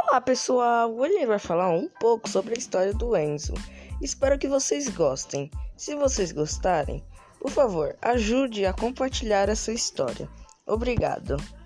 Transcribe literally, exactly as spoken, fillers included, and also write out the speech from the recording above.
Olá pessoal, hoje a gente vai falar um pouco sobre a história do Enzo. Espero que vocês gostem. Se vocês gostarem, por favor, ajude a compartilhar essa história. Obrigado.